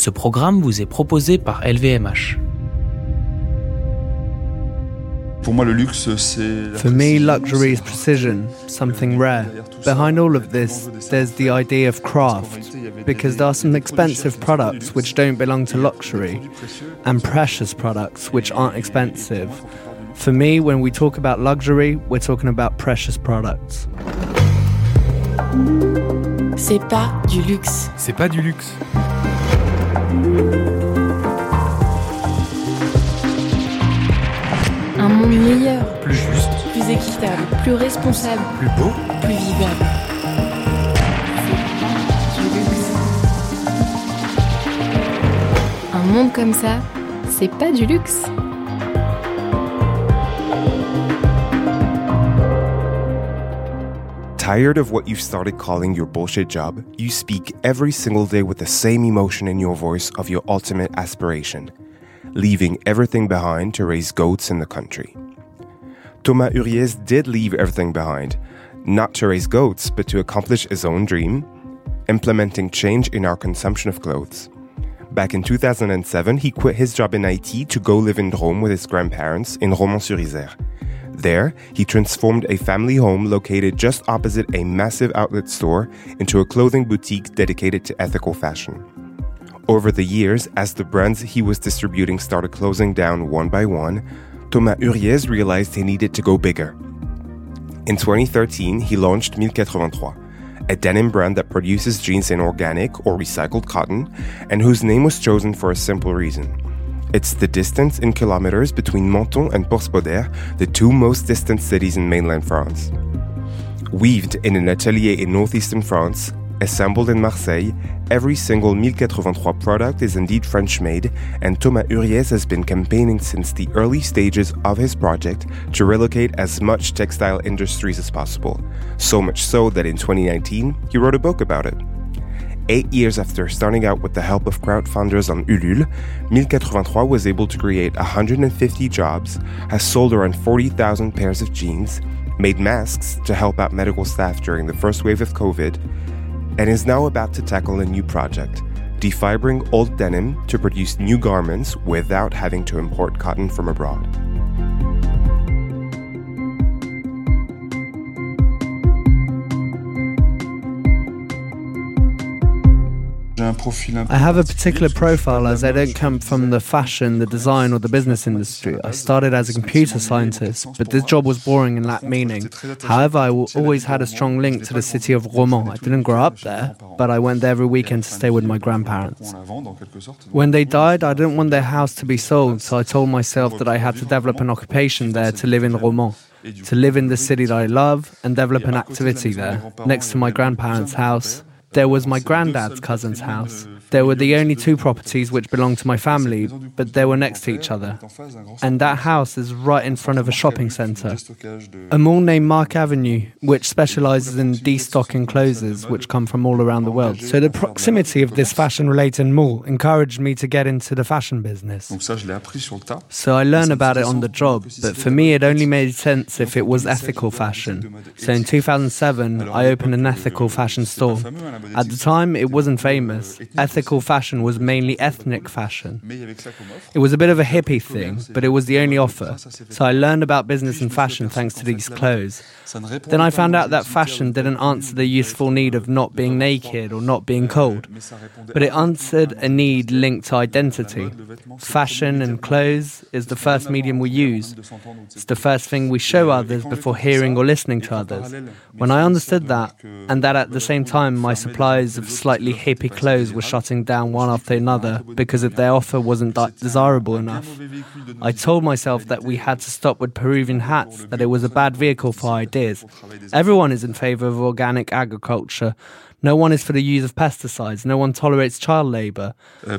Ce programme vous est proposé par LVMH. For me, luxury is precision, something rare. Behind all of this, there's the idea of craft, because there are some expensive products which don't belong to luxury, and precious products which aren't expensive. For me, when we talk about luxury, we're talking about precious products. C'est pas du luxe. C'est pas du luxe. Un monde meilleur, Plus juste, plus équitable, plus responsable, plus beau. plus vivable. C'est du luxe. Un monde comme ça, c'est pas du luxe. Tired of what you've started calling your bullshit job? You speak every single day with the same emotion in your voice of your ultimate aspiration, leaving everything behind to raise goats in the country. Thomas Huriez did leave everything behind, not to raise goats, but to accomplish his own dream, implementing change in our consumption of clothes. Back in 2007, he quit his job in IT to go live in Drôme with his grandparents in Romans-sur-Isère. There, he transformed a family home located just opposite a massive outlet store into a clothing boutique dedicated to ethical fashion. Over the years, as the brands he was distributing started closing down one by one, Thomas Huriez realized he needed to go bigger. In 2013, he launched 1083, a denim brand that produces jeans in organic or recycled cotton, and whose name was chosen for a simple reason. It's the distance in kilometers between Menton and Porspoder, the two most distant cities in mainland France. Weaved in an atelier in northeastern France, assembled in Marseille, every single 1083 product is indeed French-made, and Thomas Huriez has been campaigning since the early stages of his project to relocate as much textile industries as possible. So much so that in 2019, he wrote a book about it. 8 years after starting out with the help of crowdfunders on Ulule, 1083 was able to create 150 jobs, has sold around 40,000 pairs of jeans, made masks to help out medical staff during the first wave of COVID, and is now about to tackle a new project, defibering old denim to produce new garments without having to import cotton from abroad. I have a particular profile as I don't come from the fashion, the design or the business industry. I started as a computer scientist, but this job was boring and lacked meaning. However, I always had a strong link to the city of Romans. I didn't grow up there, but I went there every weekend to stay with my grandparents. When they died, I didn't want their house to be sold, so I told myself that I had to develop an occupation there to live in Romans, to live in the city that I love and develop an activity there, next to my grandparents' house. There was my granddad's cousin's house. There were the only two properties which belonged to my family, but they were next to each other. And that house is right in front of a shopping centre. A mall named Mark Avenue, which specialises in destocking clothes which come from all around the world. So the proximity of this fashion-related mall encouraged me to get into the fashion business. So I learned about it on the job, but for me it only made sense if it was ethical fashion. So in 2007, I opened an ethical fashion store. At the time, it wasn't famous. Ethical fashion was mainly ethnic fashion. It was a bit of a hippie thing, but it was the only offer. So I learned about business and fashion thanks to these clothes. Then I found out that fashion didn't answer the useful need of not being naked or not being cold, but it answered a need linked to identity. Fashion and clothes is the first medium we use. It's the first thing we show others before hearing or listening to others. When I understood that, and that at the same time my suppliers of slightly hippie clothes were shutting down one after another because if their offer wasn't desirable enough, I told myself that we had to stop with Peruvian hats, that it was a bad vehicle for ideas. Everyone is in favour of organic agriculture. No one is for the use of pesticides. No one tolerates child labour.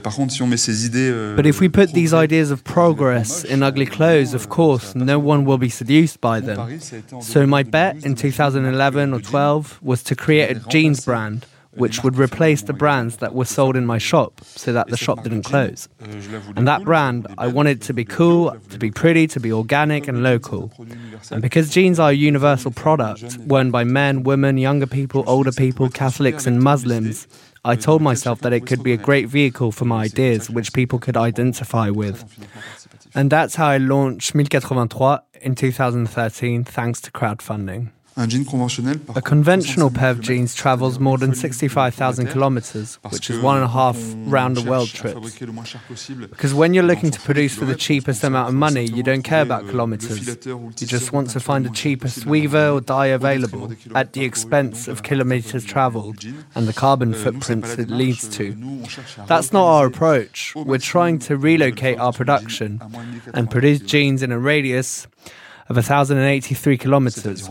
But if we put these ideas of progress in ugly clothes, of course, no one will be seduced by them. So my bet in 2011 or 12 was to create a jeans brand which would replace the brands that were sold in my shop so that the shop didn't close. And that brand, I wanted to be cool, to be pretty, to be organic and local. And because jeans are a universal product, worn by men, women, younger people, older people, Catholics and Muslims, I told myself that it could be a great vehicle for my ideas, which people could identify with. And that's how I launched 1083 in 2013, thanks to crowdfunding. A conventional pair of jeans travels more than 65,000 kilometers, which is 1.5 round-the-world trips. Because when you're looking to produce for the cheapest amount of money, you don't care about kilometers. You just want to find the cheapest weaver or dye available at the expense of kilometers traveled and the carbon footprints it leads to. That's not our approach. We're trying to relocate our production and produce jeans in a radius of 1,083 kilometers.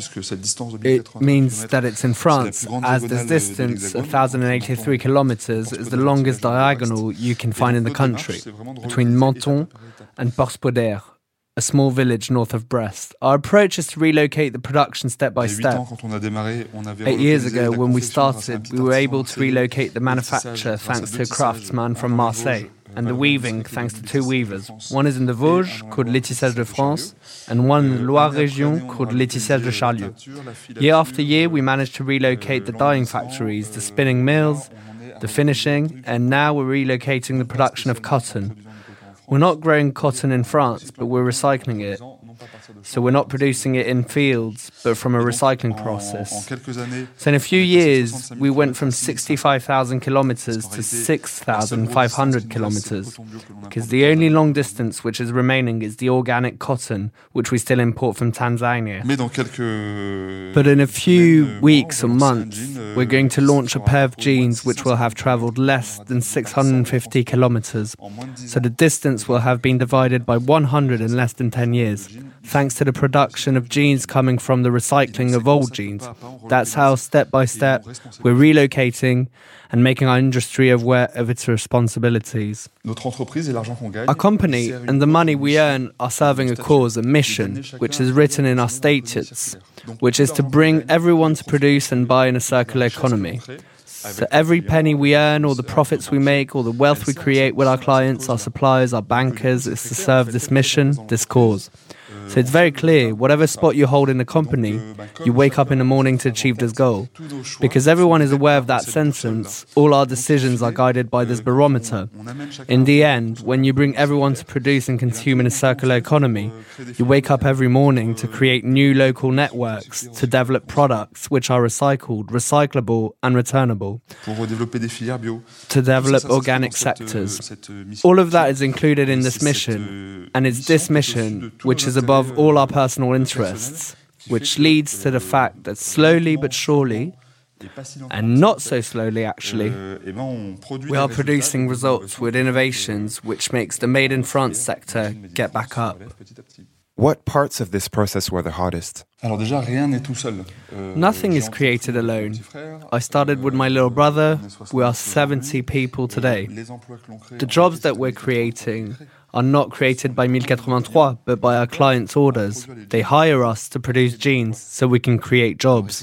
It means that it's in France, as this distance of 1,083 kilometers is the longest diagonal you can find in the country, between Menton and Porspoder, a small village north of Brest. Our approach is to relocate the production step by step. 8 years ago, when we started, we were able to relocate the manufacture thanks to a craftsman from Marseille, and the weaving thanks to 2 weavers. One is in the Vosges, called Le Tissage de France, and one in the Loire Région, called Le Tissage de Charlieu. Year after year, we managed to relocate the dyeing factories, the spinning mills, the finishing, and now we're relocating the production of cotton. We're not growing cotton in France, but we're recycling it. So we're not producing it in fields, but from a recycling process. So in a few years, we went from 65,000 kilometers to 6,500 kilometers, because the only long distance which is remaining is the organic cotton, which we still import from Tanzania. But in a few weeks or months, we're going to launch a pair of jeans which will have traveled less than 650 kilometers. So the distance will have been divided by 100 in less than 10 years. Thanks to the production of jeans coming from the recycling of old jeans. That's how, step by step, we're relocating and making our industry aware of its responsibilities. Our company and the money we earn are serving a cause, a mission, which is written in our statutes, which is to bring everyone to produce and buy in a circular economy. So every penny we earn, or the profits we make, or the wealth we create with our clients, our suppliers, our bankers, is to serve this mission, this cause. So it's very clear, whatever spot you hold in the company, you wake up in the morning to achieve this goal. Because everyone is aware of that sentence, all our decisions are guided by this barometer. In the end, when you bring everyone to produce and consume in a circular economy, you wake up every morning to create new local networks, to develop products which are recycled, recyclable and returnable, to develop organic sectors. All of that is included in this mission, and it's this mission which is above all our personal interests, which leads to the fact that slowly but surely, and not so slowly actually, we are producing results with innovations which makes the Made in France sector get back up. What parts of this process were the hardest? Nothing is created alone. I started with my little brother. We are 70 people today. The jobs that we're creating are not created by 1083, but by our clients' orders. They hire us to produce jeans so we can create jobs.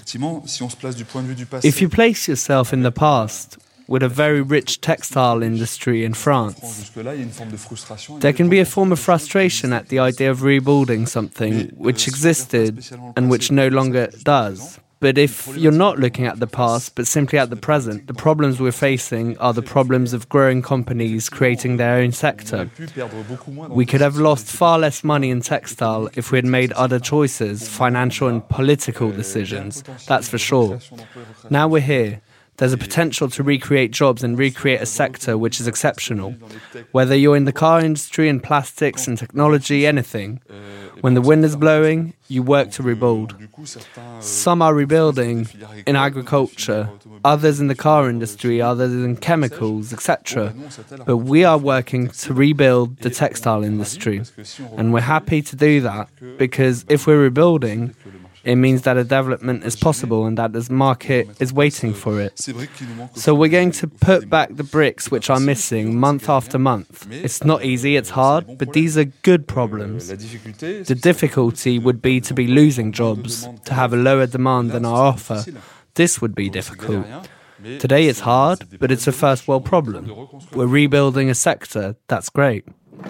If you place yourself in the past, with a very rich textile industry in France, there can be a form of frustration at the idea of rebuilding something which existed and which no longer does. But if you're not looking at the past, but simply at the present, the problems we're facing are the problems of growing companies creating their own sector. We could have lost far less money in textile if we had made other choices, financial and political decisions, that's for sure. Now we're here. There's a potential to recreate jobs and recreate a sector which is exceptional. Whether you're in the car industry, in plastics and technology, anything. When the wind is blowing, you work to rebuild. Some are rebuilding in agriculture, others in the car industry, others in chemicals, etc. But we are working to rebuild the textile industry. And we're happy to do that because if we're rebuilding, it means that a development is possible and that this market is waiting for it. So we're going to put back the bricks which are missing month after month. It's not easy, it's hard, but these are good problems. The difficulty would be to be losing jobs, to have a lower demand than our offer. This would be difficult. Today it's hard, but it's a first world problem. We're rebuilding a sector, that's great.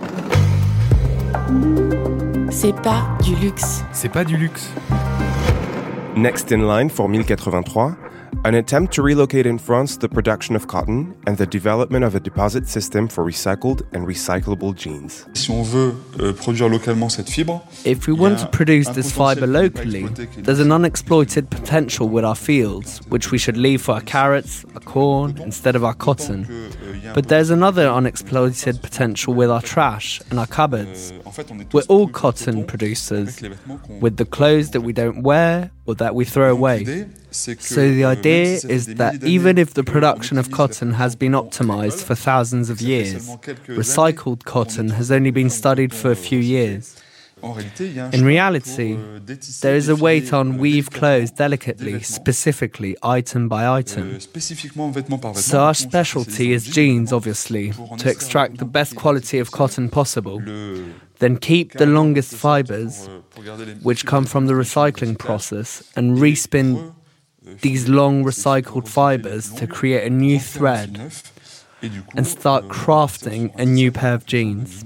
C'est pas du luxe. C'est pas du luxe. Next in line for 1083, an attempt to relocate in France the production of cotton and the development of a deposit system for recycled and recyclable jeans. Si on veut produire localement cette fibre, if we want to produce this fibre locally, there's an unexploited potential with our fields, which we should leave for our carrots, our corn, instead of our cotton. But there's another unexploited potential with our trash and our cupboards. We're all cotton producers, with the clothes that we don't wear or that we throw away. So the idea is that even if the production of cotton has been optimized for thousands of years, recycled cotton has only been studied for a few years. In reality, there is a way to unweave clothes delicately, specifically, item by item. So our specialty is jeans, obviously, to extract the best quality of cotton possible. Then keep the longest fibers, which come from the recycling process, and respin these long recycled fibers to create a new thread and start crafting a new pair of jeans.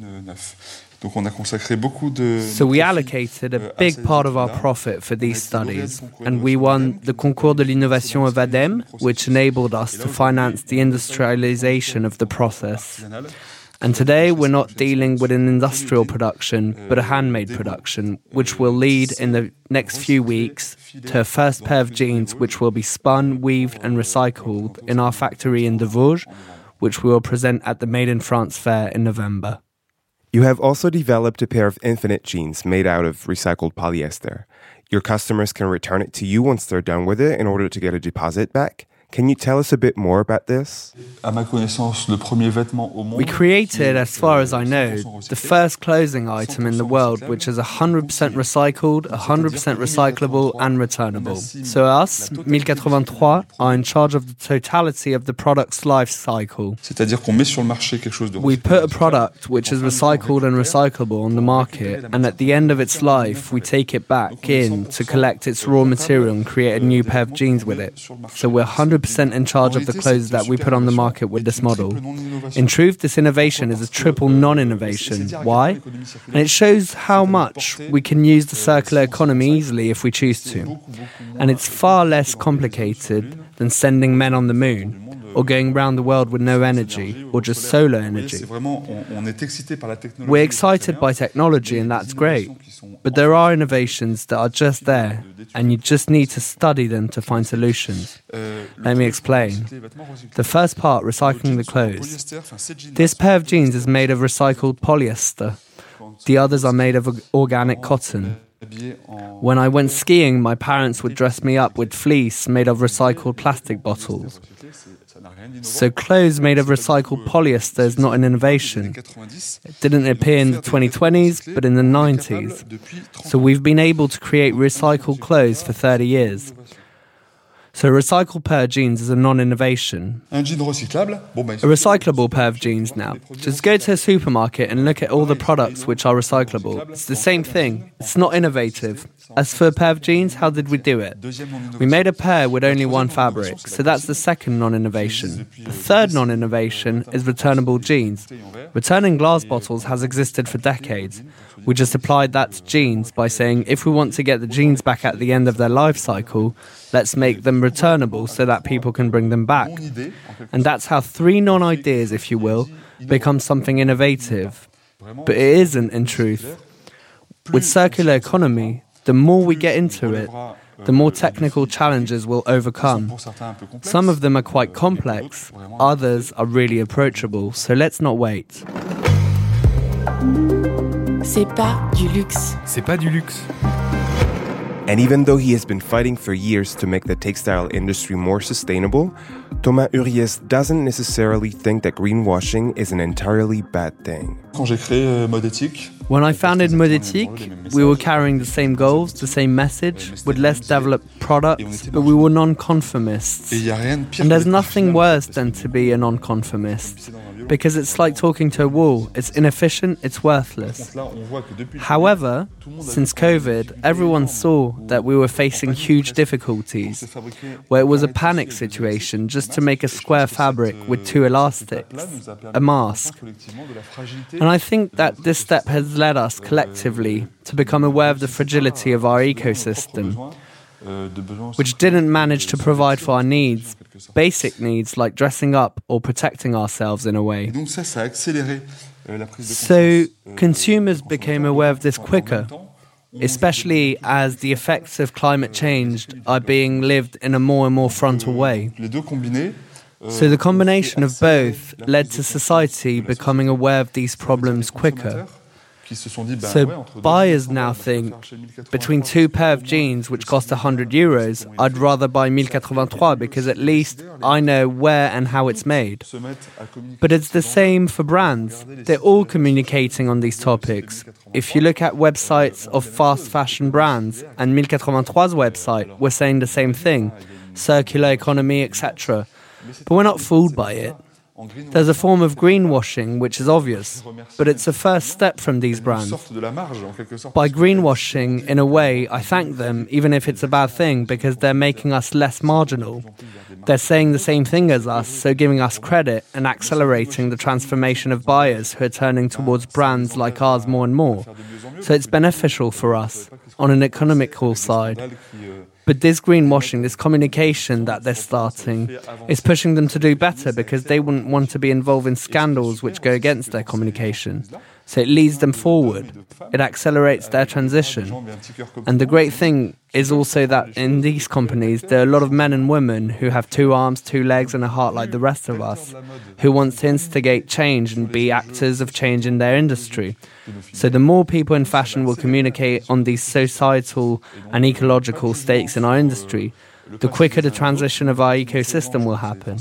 So we allocated a big part of our profit for these studies, and we won the Concours de l'Innovation of ADEME, which enabled us to finance the industrialization of the process. And today we're not dealing with an industrial production, but a handmade production, which will lead in the next few weeks to a first pair of jeans which will be spun, weaved and recycled in our factory in De Vosges, which we will present at the Made in France fair in November. You have also developed a pair of infinite jeans made out of recycled polyester. Your customers can return it to you once they're done with it in order to get a deposit back. Can you tell us a bit more about this? We created, as far as I know, the first clothing item in the world which is 100% recycled, 100% recyclable and returnable. So us, 1083, are in charge of the totality of the product's life cycle. We put a product which is recycled and recyclable on the market, and at the end of its life, we take it back in to collect its raw material and create a new pair of jeans with it. So we're 100% in charge of the clothes that we put on the market with this model. In truth, this innovation is a triple non-innovation. Why? And it shows how much we can use the circular economy easily if we choose to. And it's far less complicated than sending men on the moon, or going around the world with no energy, or just solar energy. We're excited by technology, and that's great. But there are innovations that are just there, and you just need to study them to find solutions. Let me explain. The first part, recycling the clothes. This pair of jeans is made of recycled polyester. The others are made of organic cotton. When I went skiing, my parents would dress me up with fleece made of recycled plastic bottles. So clothes made of recycled polyester is not an innovation. It didn't appear in the 2020s, but in the 90s. So we've been able to create recycled clothes for 30 years. So a recycled pair of jeans is a non-innovation. A recyclable pair of jeans now. Just go to a supermarket and look at all the products which are recyclable. It's the same thing. It's not innovative. As for a pair of jeans, how did we do it? We made a pair with only one fabric, so that's the second non-innovation. The third non-innovation is returnable jeans. Returning glass bottles has existed for decades. We just applied that to jeans by saying if we want to get the jeans back at the end of their life cycle, let's make them returnable so that people can bring them back. And that's how three non-ideas, if you will, become something innovative. But it isn't, in truth. With circular economy, the more we get into it, the more technical challenges we'll overcome. Some of them are quite complex, others are really approachable, so let's not wait. C'est pas du luxe. C'est pas du luxe. And even though he has been fighting for years to make the textile industry more sustainable, Thomas Uriès doesn't necessarily think that greenwashing is an entirely bad thing. When I founded Mode Éthique, we were carrying the same goals, the same message, with less developed products, but we were non-conformists. And there's nothing worse than to be a non-conformist, because it's like talking to a wall. It's inefficient, it's worthless. However, since COVID, everyone saw that we were facing huge difficulties, where it was a panic situation just to make a square fabric with two elastics, a mask. And I think that this step has led us collectively to become aware of the fragility of our ecosystem. which didn't manage to provide for our needs, basic needs like dressing up or protecting ourselves in a way. So consumers became aware of this quicker, especially as the effects of climate change are being lived in a more and more frontal way. So the combination of both led to society becoming aware of these problems quicker. So buyers now think, between two pair of jeans which cost €100, I'd rather buy 1083 because at least I know where and how it's made. But it's the same for brands. They're all communicating on these topics. If you look at websites of fast fashion brands, and 1083's website, we're saying the same thing, circular economy, etc. But we're not fooled by it. There's a form of greenwashing which is obvious, but it's a first step from these brands. By greenwashing, in a way, I thank them, even if it's a bad thing, because they're making us less marginal. They're saying the same thing as us, so giving us credit and accelerating the transformation of buyers who are turning towards brands like ours more and more. So it's beneficial for us, on an economical side. But this greenwashing, this communication that they're starting, is pushing them to do better because they wouldn't want to be involved in scandals which go against their communication. So it leads them forward. It accelerates their transition. And the great thing is also that in these companies, there are a lot of men and women who have 2 arms, 2 legs and a heart like the rest of us, who want to instigate change and be actors of change in their industry. So the more people in fashion will communicate on these societal and ecological stakes in our industry, the quicker the transition of our ecosystem will happen.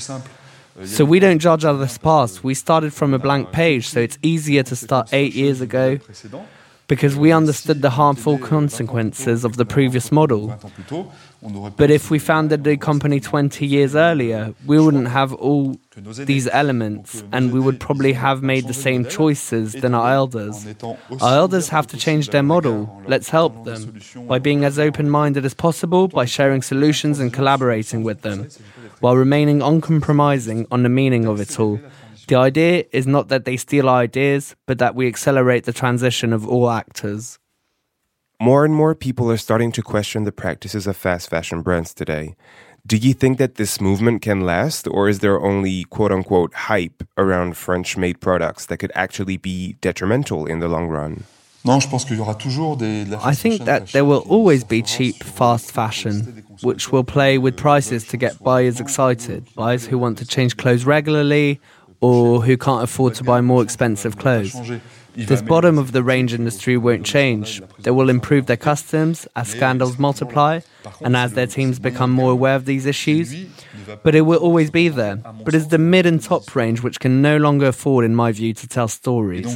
So we don't judge others' past. We started from a blank page, so it's easier to start 8 years ago because we understood the harmful consequences of the previous model. But if we founded the company 20 years earlier, we wouldn't have all these elements and we would probably have made the same choices than our elders. Our elders have to change their model. Let's help them by being as open-minded as possible, by sharing solutions and collaborating with them, while remaining uncompromising on the meaning of it all. The idea is not that they steal our ideas, but that we accelerate the transition of all actors. More and more people are starting to question the practices of fast fashion brands today. Do you think that this movement can last, or is there only quote-unquote hype around French-made products that could actually be detrimental in the long run? I think that there will always be cheap, fast fashion, which will play with prices to get buyers excited, buyers who want to change clothes regularly or who can't afford to buy more expensive clothes. This bottom-of-the-range industry won't change. They will improve their customs as scandals multiply and as their teams become more aware of these issues. But it will always be there. But it's the mid and top range which can no longer afford, in my view, to tell stories.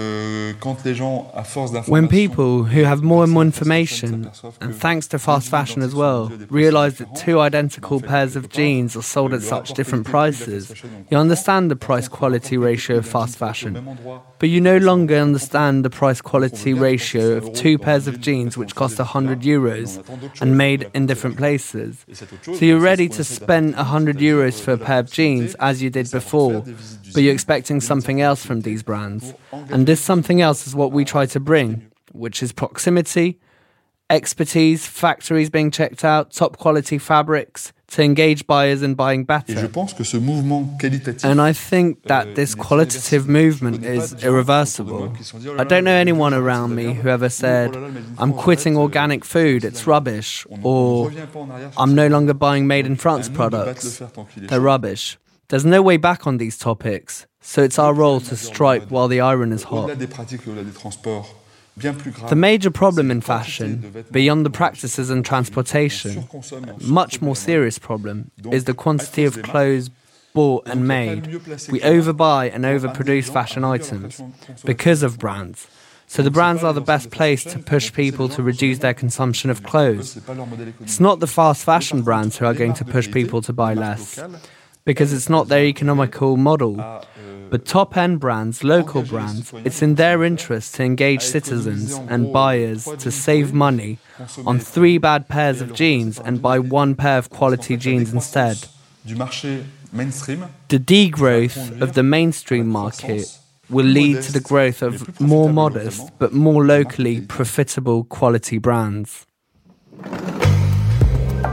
When people who have more and more information, and thanks to fast fashion as well, realize that 2 identical pairs of jeans are sold at such different prices, you understand the price-quality ratio of fast fashion. But you no longer understand the price-quality ratio of 2 pairs of jeans which cost €100 and made in different places. So you're ready to spend €100 for a pair of jeans as you did before, but you're expecting something else from these brands. And this something else is what we try to bring, which is proximity, expertise, factories being checked out, top quality fabrics, to engage buyers in buying better. And I think that this qualitative movement is irreversible. I don't know anyone around me who ever said, I'm quitting organic food, it's rubbish, or I'm no longer buying made in France products, they're rubbish. There's no way back on these topics, so it's our role to strike while the iron is hot. The major problem in fashion, beyond the practices and transportation, much more serious problem, is the quantity of clothes bought and made. We overbuy and overproduce fashion items because of brands. So the brands are the best place to push people to reduce their consumption of clothes. It's not the fast fashion brands who are going to push people to buy less, because it's not their economical model. But top-end brands, local brands, it's in their interest to engage citizens and buyers to save money on 3 bad pairs of jeans and buy 1 pair of quality jeans instead. The degrowth of the mainstream market will lead to the growth of more modest but more locally profitable quality brands.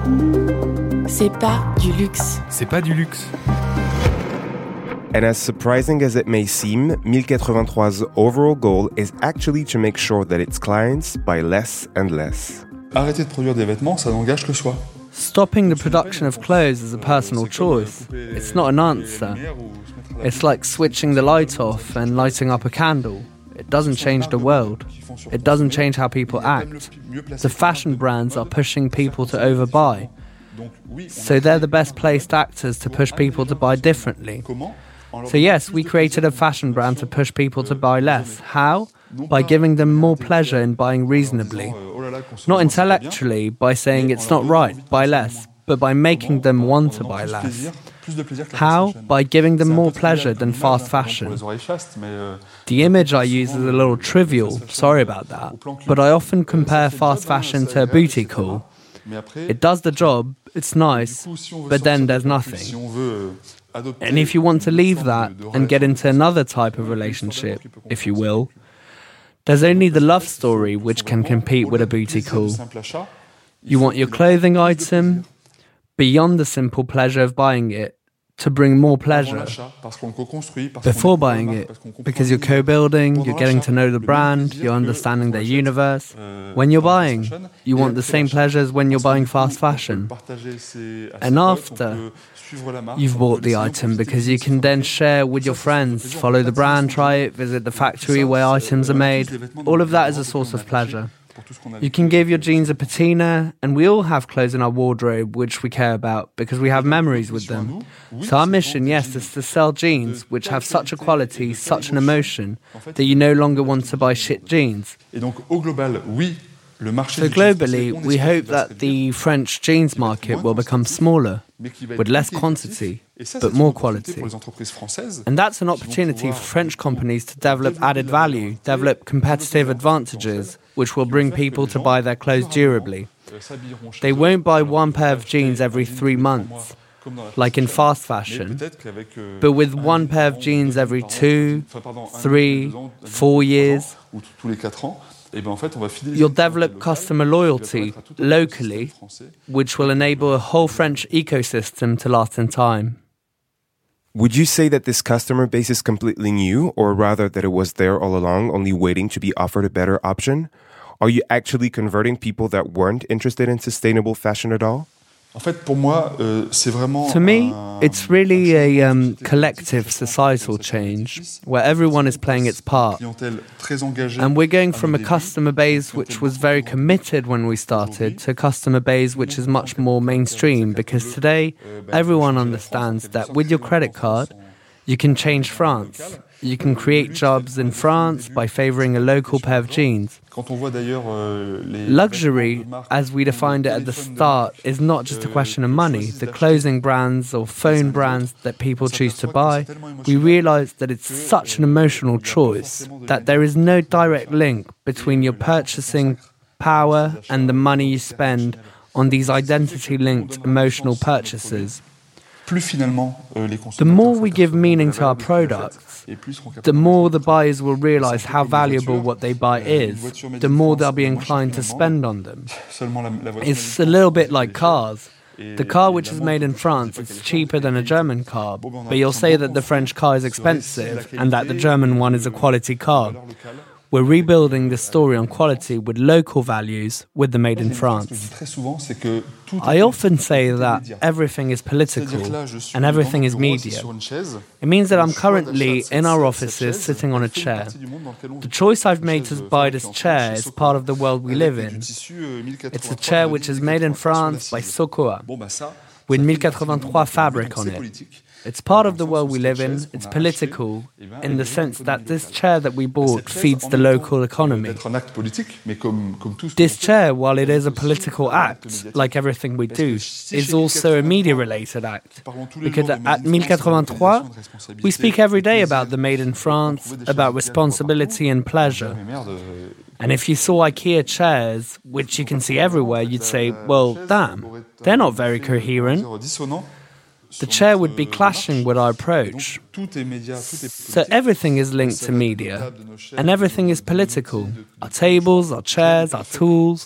C'est pas du luxe. C'est pas du luxe. And as surprising as it may seem, 1083's overall goal is actually to make sure that its clients buy less and less. Arrêter de produire des vêtements, ça n'engage que soi. Stopping the production of clothes is a personal choice. It's not an answer. It's like switching the light off and lighting up a candle. It doesn't change the world. It doesn't change how people act. The fashion brands are pushing people to overbuy. So they're the best placed actors to push people to buy differently. So yes, we created a fashion brand to push people to buy less. How? By giving them more pleasure in buying reasonably. Not intellectually, by saying it's not right, buy less, but by making them want to buy less. How? By giving them more pleasure than fast fashion. The image I use is a little trivial, sorry about that, but I often compare fast fashion to a boutique haul. It does the job, it's nice, but then there's nothing. And if you want to leave that and get into another type of relationship, if you will, there's only the love story which can compete with a boutique haul. You want your clothing item, beyond the simple pleasure of buying it, to bring more pleasure before buying it, because you're co-building, you're getting to know the brand, you're understanding their universe. When you're buying, you want the same pleasure as when you're buying fast fashion. And after, you've bought the item because you can then share with your friends, follow the brand, try it, visit the factory where items are made. All of that is a source of pleasure. You can give your jeans a patina, and we all have clothes in our wardrobe which we care about because we have memories with them. So our mission, yes, is to sell jeans which have such a quality, such an emotion, that you no longer want to buy shit jeans. So globally, we hope that the French jeans market will become smaller, with less quantity, but more quality. And that's an opportunity for French companies to develop added value, develop competitive advantages, which will bring people to buy their clothes durably. They won't buy one pair of jeans every 3 months, like in fast fashion, but with one pair of jeans every 2, 3, 4 years. You'll develop customer loyalty locally, which will enable a whole French ecosystem to last in time. Would you say that this customer base is completely new, or rather that it was there all along, only waiting to be offered a better option? Are you actually converting people that weren't interested in sustainable fashion at all? To me, it's really a collective societal change where everyone is playing its part. And we're going from a customer base which was very committed when we started to a customer base which is much more mainstream, because today everyone understands that with your credit card, you can change France. You can create jobs in France by favoring a local pair of jeans. Luxury, as we defined it at the start, is not just a question of money. The clothing brands or phone brands that people choose to buy, we realize that it's such an emotional choice that there is no direct link between your purchasing power and the money you spend on these identity-linked emotional purchases. The more we give meaning to our products, the more the buyers will realize how valuable what they buy is, the more they'll be inclined to spend on them. It's a little bit like cars. The car which is made in France is cheaper than a German car, but you'll say that the French car is expensive and that the German one is a quality car. We're rebuilding the story on quality with local values with the Made in France. I often say that everything is political and everything is media. It means that I'm currently in our offices sitting on a chair. The choice I've made to buy this chair is part of the world we live in. It's a chair which is made in France by Sokoa, with 1083 fabric on it. It's part of the world we live in. It's political in the sense that this chair that we bought feeds the local economy. This chair, while it is a political act, like everything we do, is also a media-related act. Because at 1083, we speak every day about the Made in France, about responsibility and pleasure. And if you saw IKEA chairs, which you can see everywhere, you'd say, well, damn, they're not very coherent. The chair would be clashing with our approach. So everything is linked to media, and everything is political. Our tables, our chairs, our tools,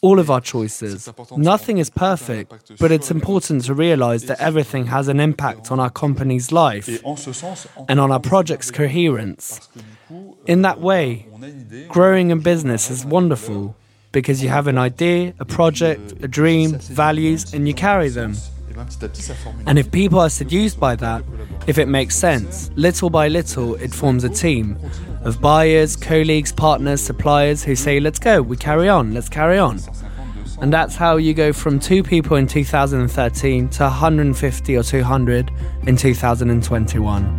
all of our choices. Nothing is perfect, but it's important to realize that everything has an impact on our company's life and on our project's coherence. In that way, growing a business is wonderful because you have an idea, a project, a dream, values, and you carry them. And if people are seduced by that, if it makes sense, little by little it forms a team of buyers, colleagues, partners, suppliers who say, let's go, we carry on, let's carry on. And that's how you go from 2 people in 2013 to 150 or 200 in 2021.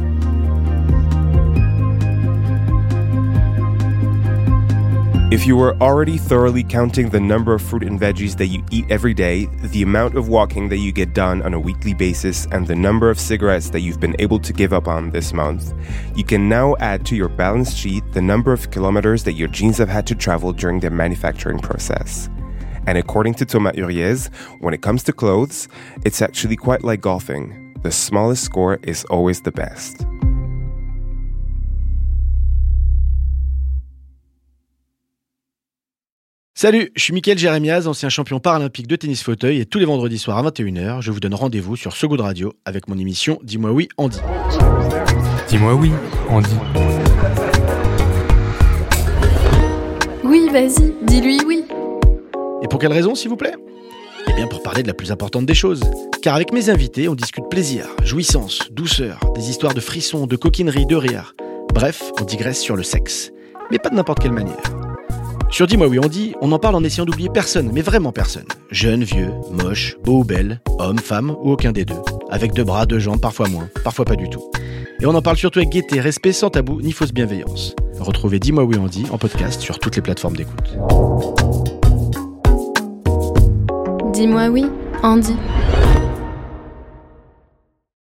If you were already thoroughly counting the number of fruit and veggies that you eat every day, the amount of walking that you get done on a weekly basis, and the number of cigarettes that you've been able to give up on this month, you can now add to your balance sheet the number of kilometers that your jeans have had to travel during their manufacturing process. And according to Thomas Uriez, when it comes to clothes, it's actually quite like golfing. The smallest score is always the best. Salut, je suis Mickaël Jérémiaz, ancien champion paralympique de tennis fauteuil, et tous les vendredis soirs à 21h, je vous donne rendez-vous sur So Good Radio avec mon émission Dis-moi oui, Andy. Dis-moi oui, Andy. Oui, vas-y, dis-lui oui. Et pour quelle raison, s'il vous plaît ? Eh bien pour parler de la plus importante des choses. Car avec mes invités, on discute plaisir, jouissance, douceur, des histoires de frissons, de coquinerie, de rire. Bref, on digresse sur le sexe. Mais pas de n'importe quelle manière. Sur Dis-moi oui, Andy, on en parle en essayant d'oublier personne, mais vraiment personne. Jeune, vieux, moche, beau ou belle, homme, femme ou aucun des deux. Avec 2 bras, 2 jambes, parfois moins, parfois pas du tout. Et on en parle surtout avec gaieté, respect, sans tabou, ni fausse bienveillance. Retrouvez Dis-moi oui, Andy en podcast sur toutes les plateformes d'écoute. Dis-moi oui, Andy.